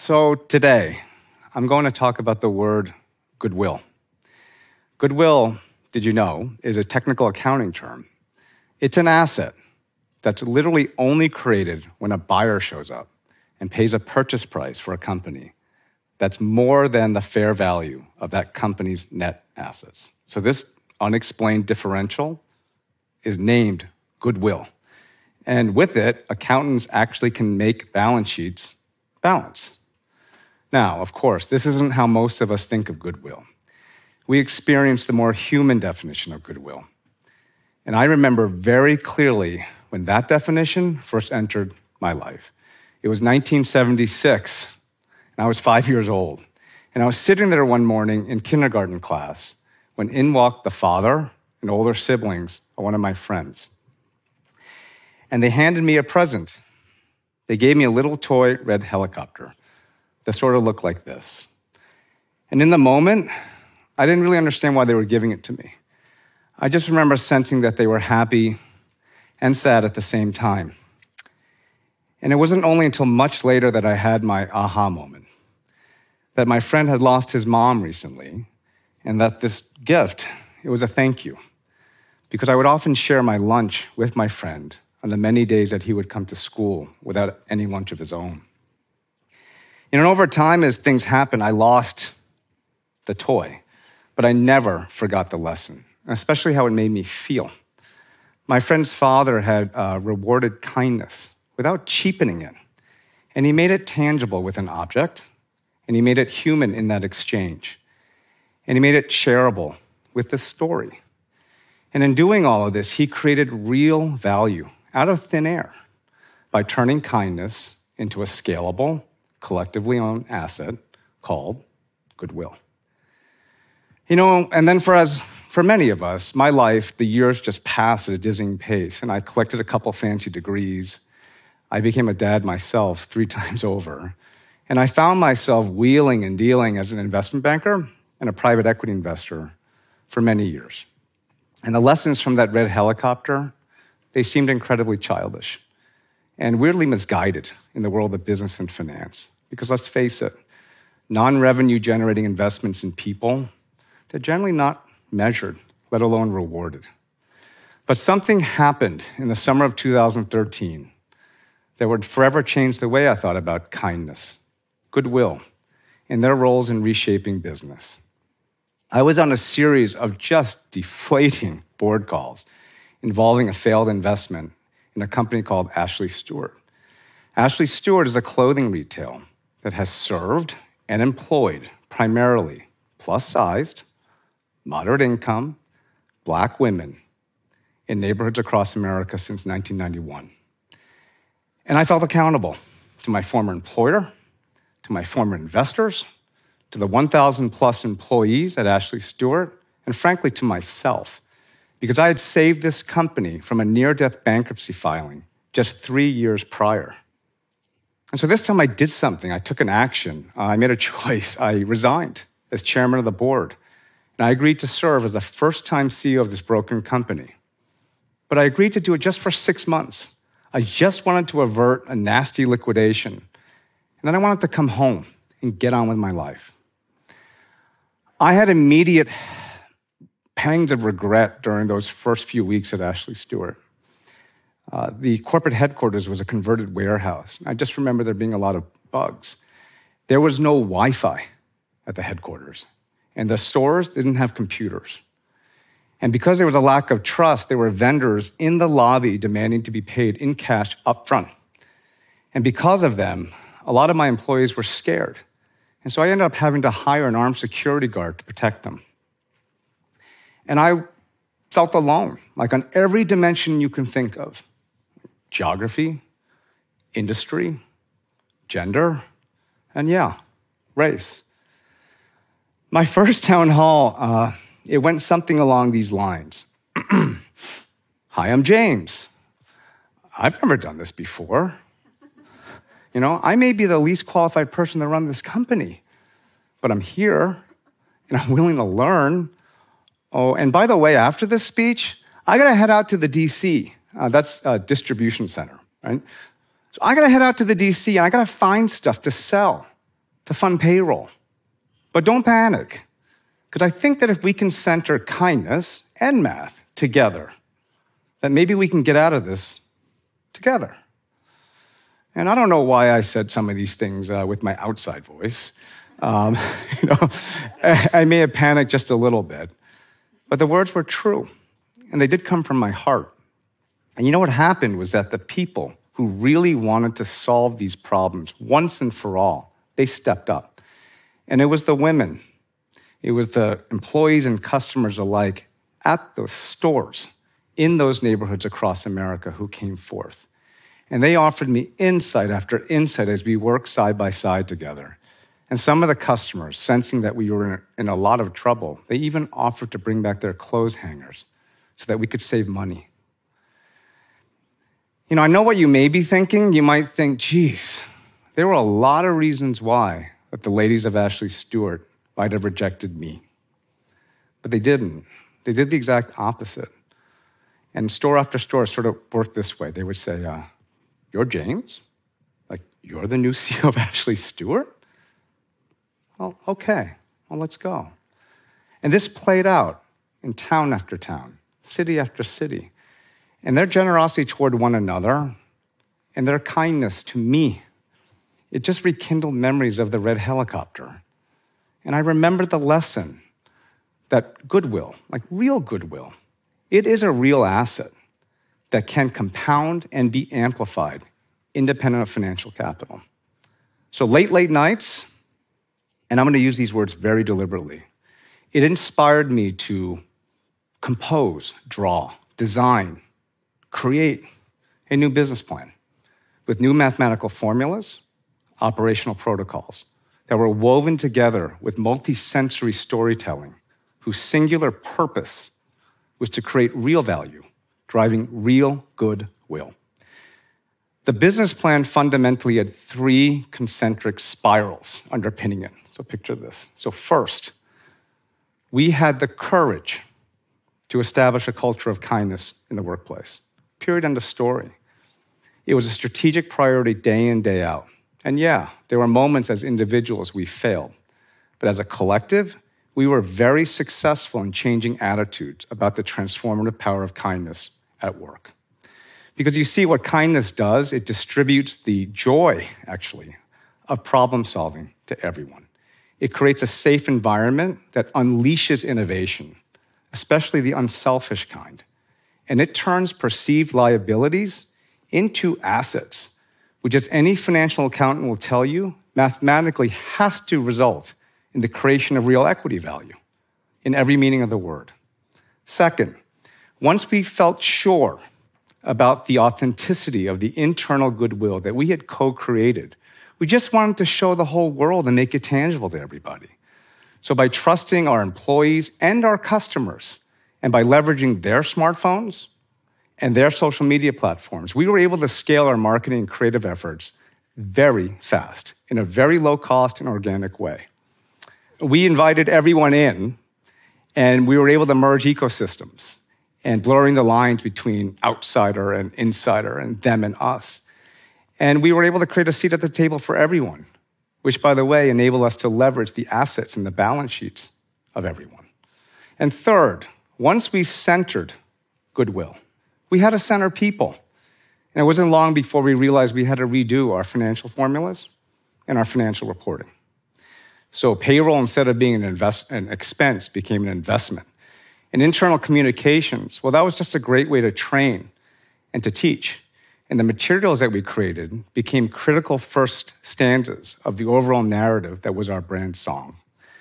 So today, I'm going to talk about the word goodwill. Goodwill, did you know, is a technical accounting term. It's an asset that's literally only created when a buyer shows up and pays a purchase price for a company that's more than the fair value of that company's net assets. So this unexplained differential is named goodwill. And with it, accountants actually can make balance sheets balance. Now, of course, this isn't how most of us think of goodwill. We experience the more human definition of goodwill. And I remember very clearly when that definition first entered my life. It was 1976, and I was 5 years old. And I was sitting there one morning in kindergarten class when in walked the father and older siblings of one of my friends. And they handed me a present. They gave me a little toy red helicopter that sort of looked like this. And in the moment, I didn't really understand why they were giving it to me. I just remember sensing that they were happy and sad at the same time. And it wasn't only until much later that I had my aha moment, that my friend had lost his mom recently, and that this gift, it was a thank you. Because I would often share my lunch with my friend on the many days that he would come to school without any lunch of his own. And over time, as things happened, I lost the toy, but I never forgot the lesson, especially how it made me feel. My friend's father had rewarded kindness without cheapening it, and he made it tangible with an object, and he made it human in that exchange, and he made it shareable with this story. And in doing all of this, he created real value out of thin air by turning kindness into a scalable, collectively owned asset called goodwill. And then for many of us, my life, the years just passed at a dizzying pace, and I collected a couple fancy degrees. I became a dad myself 3 times over, and I found myself wheeling and dealing as an investment banker and a private equity investor for many years. And the lessons from that red helicopter, they seemed incredibly childish and weirdly misguided in the world of business and finance. Because let's face it, non-revenue generating investments in people, they're generally not measured, let alone rewarded. But something happened in the summer of 2013 that would forever change the way I thought about kindness, goodwill, and their roles in reshaping business. I was on a series of just deflating board calls involving a failed investment in a company called Ashley Stewart. Ashley Stewart is a clothing retail that has served and employed primarily plus-sized, moderate income, Black women in neighborhoods across America since 1991. And I felt accountable to my former employer, to my former investors, to the 1,000 plus employees at Ashley Stewart, and frankly to myself, because I had saved this company from a near-death bankruptcy filing just 3 years prior. And so this time I did something. I took an action. I made a choice. I resigned as chairman of the board, and I agreed to serve as the first-time CEO of this broken company. But I agreed to do it just for 6 months. I just wanted to avert a nasty liquidation, and then I wanted to come home and get on with my life. I had immediate pangs of regret during those first few weeks at Ashley Stewart. The corporate headquarters was a converted warehouse. I just remember there being a lot of bugs. There was no Wi-Fi at the headquarters, and the stores didn't have computers. And because there was a lack of trust, there were vendors in the lobby demanding to be paid in cash up front. And because of them, a lot of my employees were scared. And so I ended up having to hire an armed security guard to protect them. And I felt alone, like on every dimension you can think of. Geography, industry, gender, and race. My first town hall, it went something along these lines. Hi, I'm James. I've never done this before. I may be the least qualified person to run this company, but I'm here and I'm willing to learn. Oh, and by the way, after this speech, I gotta head out to the DC. That's a distribution center, right? So I gotta head out to the DC and I gotta find stuff to sell. to fund payroll. But don't panic, because I think that if we can center kindness and math together, that maybe we can get out of this together. And I don't know why I said some of these things with my outside voice. I may have panicked just a little bit, but the words were true, and they did come from my heart. And you know what happened was that the people who really wanted to solve these problems once and for all, they stepped up. And it was the women, it was the employees and customers alike at those stores in those neighborhoods across America who came forth. And they offered me insight after insight as we worked side by side together. And some of the customers, sensing that we were in a lot of trouble, they even offered to bring back their clothes hangers so that we could save money. I know what you may be thinking. You might think, geez, there were a lot of reasons why that the ladies of Ashley Stewart might have rejected me. But they didn't. They did the exact opposite. And store after store sort of worked this way. They would say, you're James? Like, you're the new CEO of Ashley Stewart? Well, okay. Well, let's go. And this played out in town after town, city after city. And their generosity toward one another and their kindness to me, it just rekindled memories of the red helicopter. And I remembered the lesson that goodwill, like real goodwill, it is a real asset that can compound and be amplified independent of financial capital. So late nights, and I'm going to use these words very deliberately, it inspired me to compose, draw, design, create a new business plan with new mathematical formulas, operational protocols that were woven together with multi-sensory storytelling whose singular purpose was to create real value, driving real goodwill. The business plan fundamentally had 3 concentric spirals underpinning it. So picture this. So first, we had the courage to establish a culture of kindness in the workplace. Period, end of story. It was a strategic priority day in, day out. And yeah, there were moments as individuals we failed. But as a collective, we were very successful in changing attitudes about the transformative power of kindness at work. Because you see, what kindness does, it distributes the joy, actually, of problem solving to everyone. It creates a safe environment that unleashes innovation, especially the unselfish kind. And it turns perceived liabilities into assets, which, as any financial accountant will tell you, mathematically has to result in the creation of real equity value in every meaning of the word. Second, once we felt sure about the authenticity of the internal goodwill that we had co-created, we just wanted to show the whole world and make it tangible to everybody. So by trusting our employees and our customers, and by leveraging their smartphones and their social media platforms, we were able to scale our marketing and creative efforts very fast, in a very low cost and organic way. We invited everyone in, and we were able to merge ecosystems and blurring the lines between outsider and insider and them and us. And we were able to create a seat at the table for everyone, which, by the way, enabled us to leverage the assets and the balance sheets of everyone. And third, once we centered goodwill, we had to center people. And it wasn't long before we realized we had to redo our financial formulas and our financial reporting. So payroll, instead of being an expense, became an investment. And internal communications, well, that was just a great way to train and to teach. And the materials that we created became critical first stanzas of the overall narrative that was our brand song.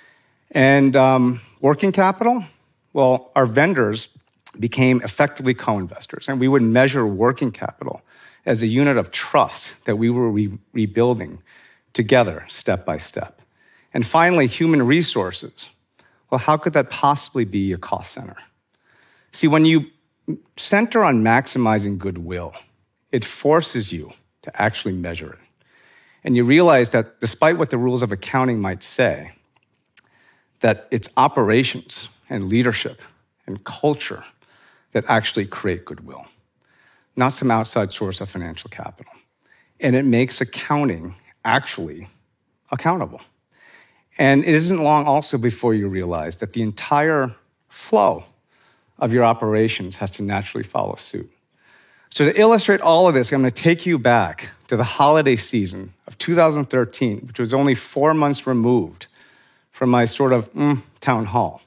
And working capital, well, our vendors became effectively co-investors, and we would measure working capital as a unit of trust that we were rebuilding together, step by step. And finally, human resources. Well, how could that possibly be a cost center? See, when you center on maximizing goodwill, it forces you to actually measure it. And you realize that despite what the rules of accounting might say, that it's operations and leadership and culture that actually create goodwill, not some outside source of financial capital. And it makes accounting actually accountable. And it isn't long also before you realize that the entire flow of your operations has to naturally follow suit. So to illustrate all of this, I'm going to take you back to the holiday season of 2013, which was only 4 months removed from my sort of town hall.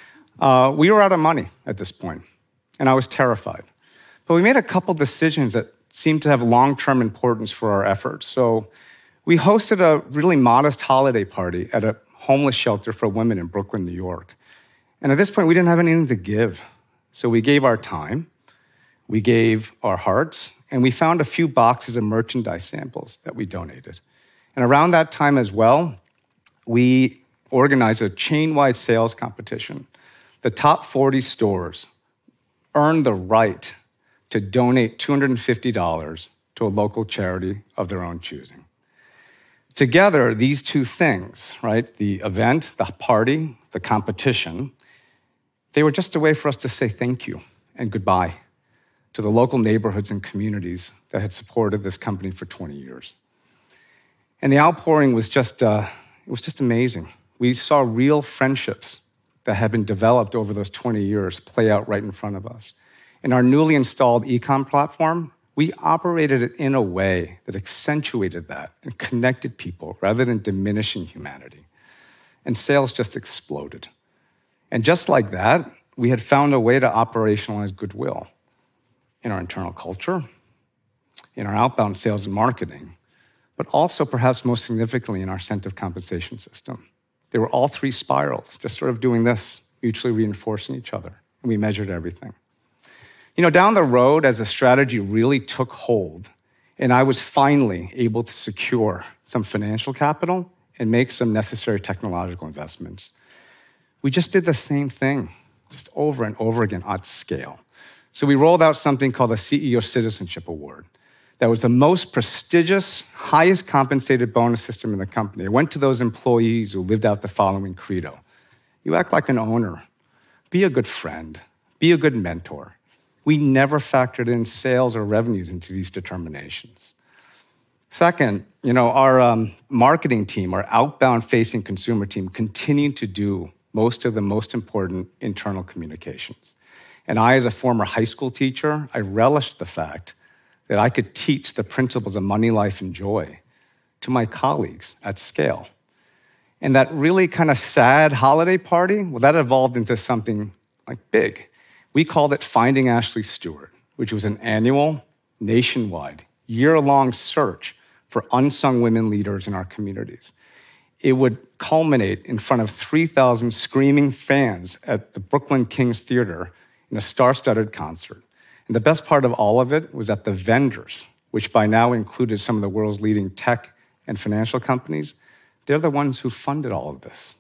We were out of money at this point, and I was terrified. But we made a couple decisions that seemed to have long-term importance for our efforts. So we hosted a really modest holiday party at a homeless shelter for women in Brooklyn, New York. And at this point, we didn't have anything to give. So we gave our time, we gave our hearts, and we found a few boxes of merchandise samples that we donated. And around that time as well, we organized a chain-wide sales competition. The top 40 stores earned the right to donate $250 to a local charity of their own choosing. Together, these two things, right, the event, the party, the competition, they were just a way for us to say thank you and goodbye to the local neighborhoods and communities that had supported this company for 20 years. And the outpouring was just amazing. We saw real friendships that had been developed over those 20 years play out right in front of us. In our newly installed e-com platform, we operated it in a way that accentuated that and connected people rather than diminishing humanity. And sales just exploded. And just like that, we had found a way to operationalize goodwill in our internal culture, in our outbound sales and marketing, but also perhaps most significantly in our incentive compensation system. They were all three spirals, just sort of doing this, mutually reinforcing each other. And we measured everything. You know, down the road, as the strategy really took hold, and I was finally able to secure some financial capital and make some necessary technological investments, we just did the same thing, just over and over again at scale. So we rolled out something called the CEO Citizenship Award. That was the most prestigious, highest compensated bonus system in the company. It went to those employees who lived out the following credo. You act like an owner. Be a good friend. Be a good mentor. We never factored in sales or revenues into these determinations. Second, you know, our marketing team, our outbound-facing consumer team, continued to do most of the most important internal communications. And I, as a former high school teacher, I relished the fact that I could teach the principles of money, life, and joy to my colleagues at scale. And that really kind of sad holiday party, well, that evolved into something like big. We called it Finding Ashley Stewart, which was an annual, nationwide, year-long search for unsung women leaders in our communities. It would culminate in front of 3,000 screaming fans at the Brooklyn Kings Theater in a star-studded concert. And the best part of all of it was that the vendors, which by now included some of the world's leading tech and financial companies, they're the ones who funded all of this.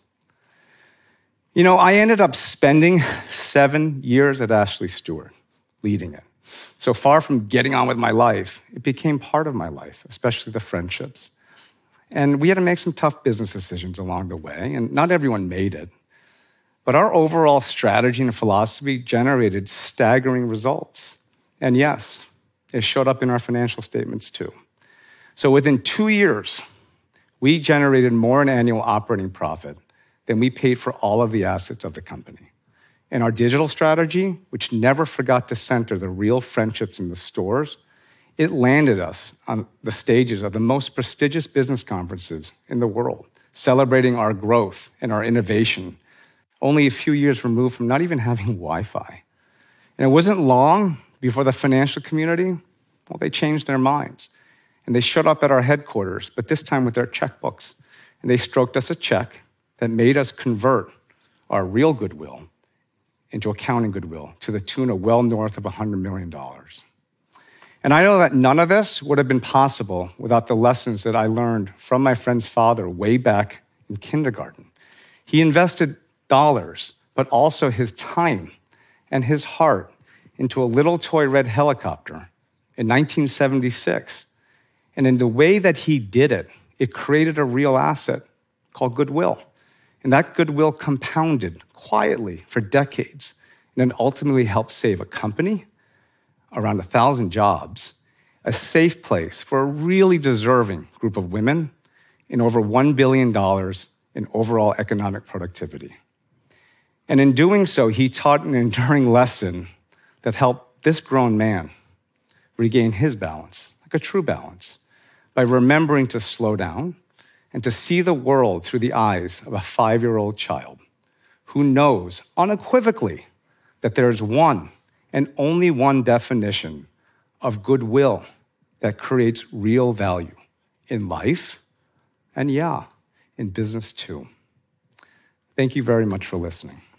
You know, I ended up spending 7 years at Ashley Stewart, leading it. So far from getting on with my life, it became part of my life, especially the friendships. And we had to make some tough business decisions along the way, and not everyone made it. But our overall strategy and philosophy generated staggering results. And yes, it showed up in our financial statements too. So within 2 years, we generated more in annual operating profit than we paid for all of the assets of the company. And our digital strategy, which never forgot to center the real friendships in the stores, it landed us on the stages of the most prestigious business conferences in the world, celebrating our growth and our innovation, only a few years removed from not even having Wi-Fi. And it wasn't long before the financial community, well, they changed their minds. And they showed up at our headquarters, but this time with their checkbooks. And they stroked us a check that made us convert our real goodwill into accounting goodwill to the tune of well north of $100 million. And I know that none of this would have been possible without the lessons that I learned from my friend's father way back in kindergarten. He invested dollars, but also his time and his heart into a little toy red helicopter in 1976. And in the way that he did it, it created a real asset called goodwill. And that goodwill compounded quietly for decades and then ultimately helped save a company, around 1,000 jobs, a safe place for a really deserving group of women, and over $1 billion in overall economic productivity. And in doing so, he taught an enduring lesson that helped this grown man regain his balance, like a true balance, by remembering to slow down and to see the world through the eyes of a 5-year-old child who knows unequivocally that there is one and only one definition of goodwill that creates real value in life and, in business too. Thank you very much for listening.